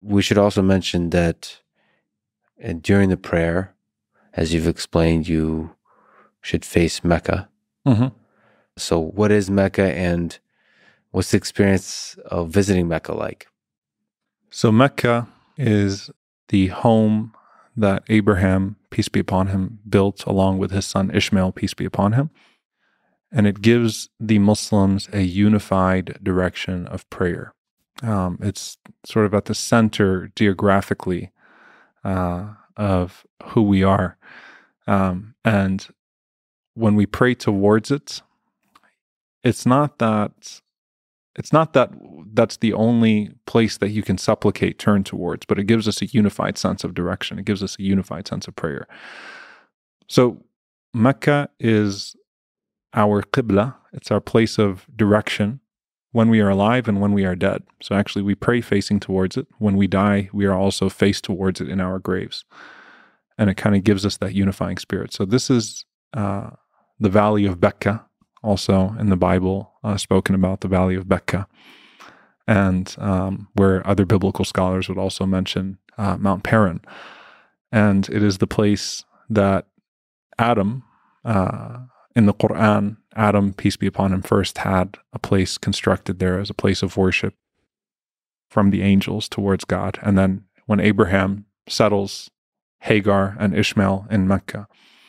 we should also mention that during the prayer, as you've explained, you should face Mecca. Mm-hmm. So what is Mecca, and what's the experience of visiting Mecca like? So Mecca is the home that Abraham, peace be upon him, built along with his son Ishmael, peace be upon him. And it gives the Muslims a unified direction of prayer. It's sort of at the center geographically of who we are. And when we pray towards it, it's not that that's the only place that you can supplicate, turn towards, but it gives us a unified sense of direction. It gives us a unified sense of prayer. So Mecca is our qibla. It's our place of direction when we are alive and when we are dead. So actually we pray facing towards it. When we die, we are also faced towards it in our graves. And it kind of gives us that unifying spirit. So this is the Valley of Becca, also in the Bible, spoken about the Valley of Becca. And where other biblical scholars would also mention Mount Paran. And it is the place that Adam, in the Quran, Adam, peace be upon him, first had a place constructed there as a place of worship from the angels towards God. And then when Abraham settles Hagar and Ishmael in Mecca,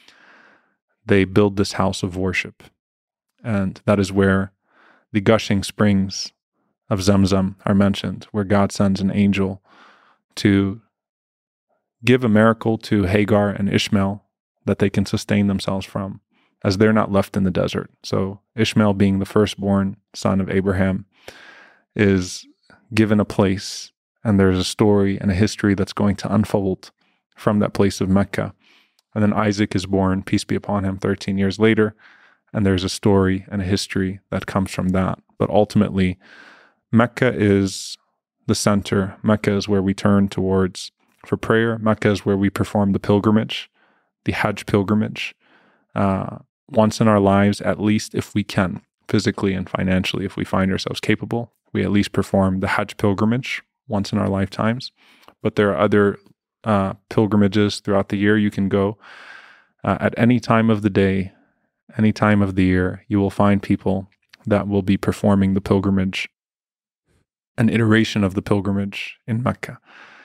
they build this house of worship. And that is where the gushing springs of Zamzam are mentioned, where God sends an angel to give a miracle to Hagar and Ishmael that they can sustain themselves from, as they're not left in the desert. So Ishmael, being the firstborn son of Abraham, is given a place, and there's a story and a history that's going to unfold from that place of Mecca. And then Isaac is born, peace be upon him, 13 years later, and there's a story and a history that comes from that. But ultimately, Mecca is the center. Mecca is where we turn towards for prayer. Mecca is where we perform the pilgrimage, the Hajj pilgrimage, once in our lives, at least if we can, physically and financially, if we find ourselves capable, we at least perform the Hajj pilgrimage once in our lifetimes. But there are other pilgrimages throughout the year you can go. At any time of the day, any time of the year, you will find people that will be performing the pilgrimage, an iteration of the pilgrimage in Mecca.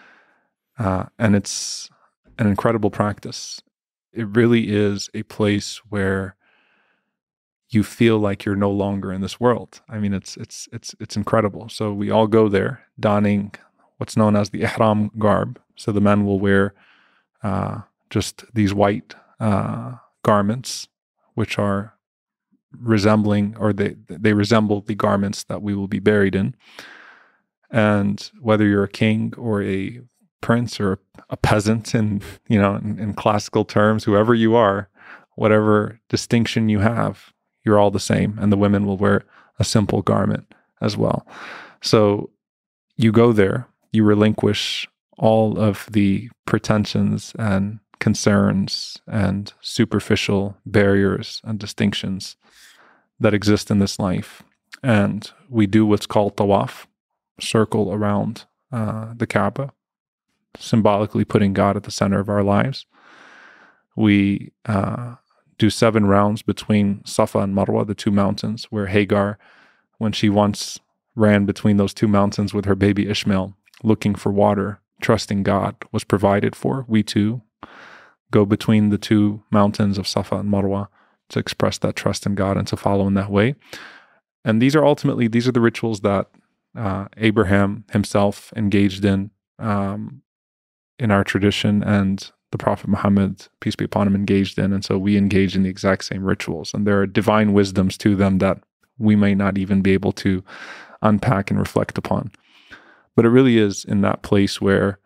And it's an incredible practice. It really is a place where you feel like you're no longer in this world. I mean, it's incredible. So we all go there donning what's known as the ihram garb. So the men will wear just these white garments, which are resembling, or they resemble the garments that we will be buried in. And whether you're a king or a prince or a peasant, in classical terms, whoever you are, whatever distinction you have, you're all the same. And the women will wear a simple garment as well. So you go there, you relinquish all of the pretensions and concerns and superficial barriers and distinctions that exist in this life. And we do what's called tawaf, circle around the Kaaba, symbolically putting God at the center of our lives. We do 7 rounds between Safa and Marwa, the 2 mountains, where Hagar, when she once ran between those 2 mountains with her baby Ishmael, looking for water, trusting God, was provided for. We too go between the 2 mountains of Safa and Marwa to express that trust in God and to follow in that way. And these are the rituals that Abraham himself engaged in our tradition, and the Prophet Muhammad, peace be upon him, engaged in. And so we engage in the exact same rituals. And there are divine wisdoms to them that we may not even be able to unpack and reflect upon. But it really is in that place where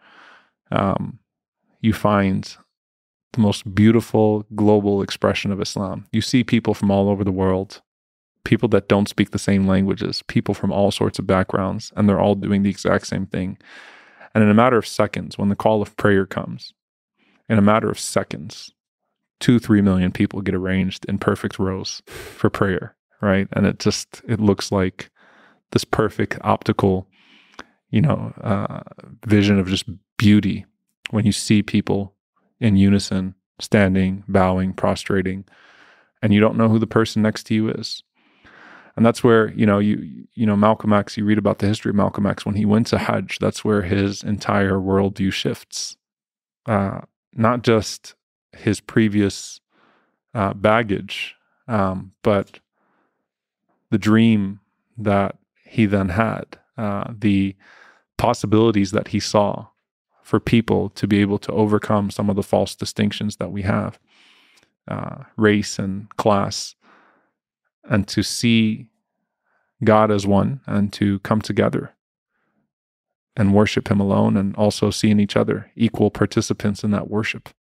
you find the most beautiful global expression of Islam. You see people from all over the world, people that don't speak the same languages, people from all sorts of backgrounds, and they're all doing the exact same thing. And in a matter of seconds, when the call of prayer comes, in a matter of seconds, 2-3 million people get arranged in perfect rows for prayer, right? And it looks like this perfect optical, vision of just beauty when you see people in unison, standing, bowing, prostrating, and you don't know who the person next to you is. And that's where, Malcolm X, you read about the history of Malcolm X, when he went to Hajj, that's where his entire worldview shifts. Not just his previous baggage, but the dream that he then had, the possibilities that he saw for people to be able to overcome some of the false distinctions that we have, race and class, and to see God as one and to come together and worship him alone, and also seeing each other equal participants in that worship.